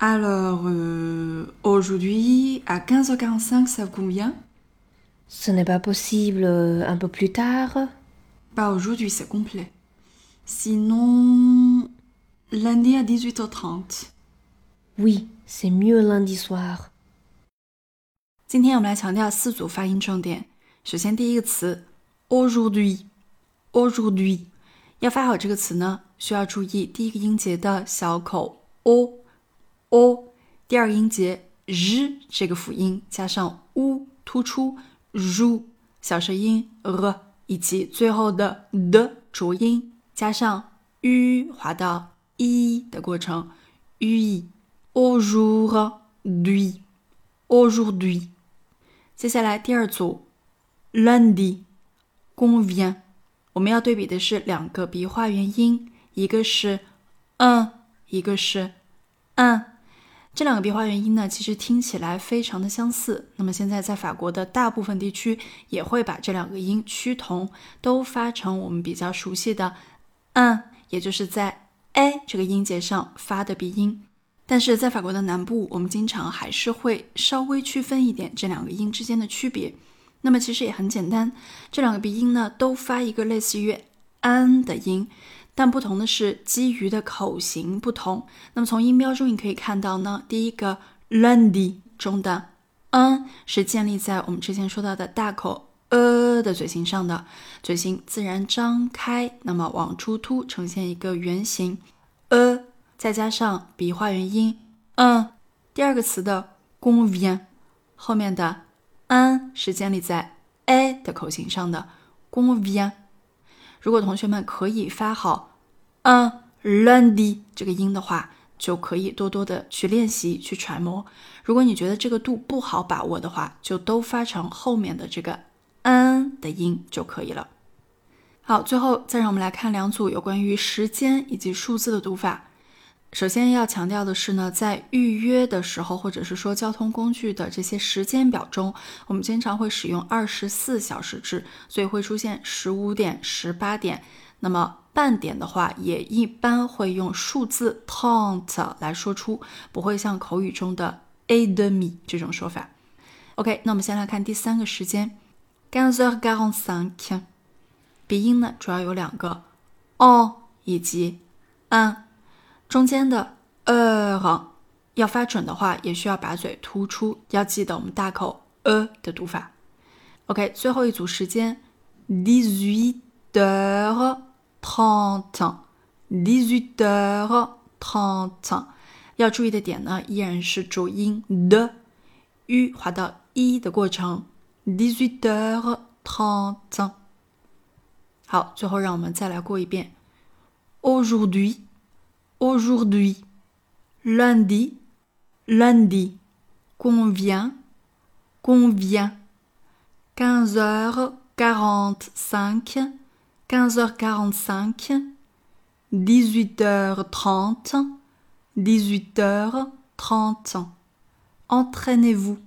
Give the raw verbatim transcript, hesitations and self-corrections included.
Alors, euh, aujourd'hui, à quinze heures quarante-cinq, ça vous convient? Ce n'est pas possible euh, un peu plus tard? Pas aujourd'hui, c'est complet. Sinon, lundi à dix-huit heures trente. Oui, c'est mieux lundi soir. 今天我们来强调四组发音重点。首先，第一个词 aujourd'hui，aujourd'hui，要发好这个词呢，需要注意第一个音节的小口 o o，第二个音节 r 这个辅音加上 u 突出 ru 小舌音 r， 以及最后的的浊音加上 u 滑到 i 的过程 ui aujourd'hui aujourd'hui。接下来第二组 lundi convient， 我们要对比的是两个鼻化元音，一个是 un， 一个是 un。这两个鼻化元音呢，其实听起来非常的相似。那么现在在法国的大部分地区也会把这两个音趋同，都发成我们比较熟悉的 un， 也就是在 a 这个音节上发的鼻音。但是在法国的南部，我们经常还是会稍微区分一点这两个音之间的区别。那么其实也很简单，这两个鼻音呢都发一个类似于 an 的音，但不同的是基于的口型不同。那么从音标中你可以看到呢，第一个 lundi 中的 an 是建立在我们之前说到的大口 e 的嘴型上的，嘴型自然张开，那么往出凸呈现一个圆形 e， 再加上鼻化元音 un。 第二个词的 convient 后面的 an 是建立在 a 的口型上的 convient。 如果同学们可以发好 un lundi 这个音的话，就可以多多的去练习去揣摩。如果你觉得这个度不好把握的话，就都发成后面的这个 an 的音就可以了。好，最后再让我们来看两组有关于时间以及数字的读法。首先要强调的是呢，在预约的时候，或者是说交通工具的这些时间表中，我们经常会使用二十四小时制，所以会出现十五点、十八点。那么半点的话，也一般会用数字 trente 来说出，不会像口语中的 et demi 这种说法。OK， 那我们先来看第三个时间 quinze heures quarante-cinq， 鼻音呢主要有两个 en 以及 un。中间的 heure 要发准的话，也需要把嘴突出，要记得我们大口 e 的读法。 OK， 最后一组时间 dix-huit heures trente， dix-huit heures trente， 要注意的点呢，依然是浊音的 u 滑到 i 的过程 dix-huit heures trente。 好，最后让我们再来过一遍 aujourd'hui aujourd'hui, lundi, lundi, convient, convient, quinze heures quarante-cinq, quinze heures quarante-cinq, dix-huit heures trente, dix-huit heures trente. Entraînez-vous.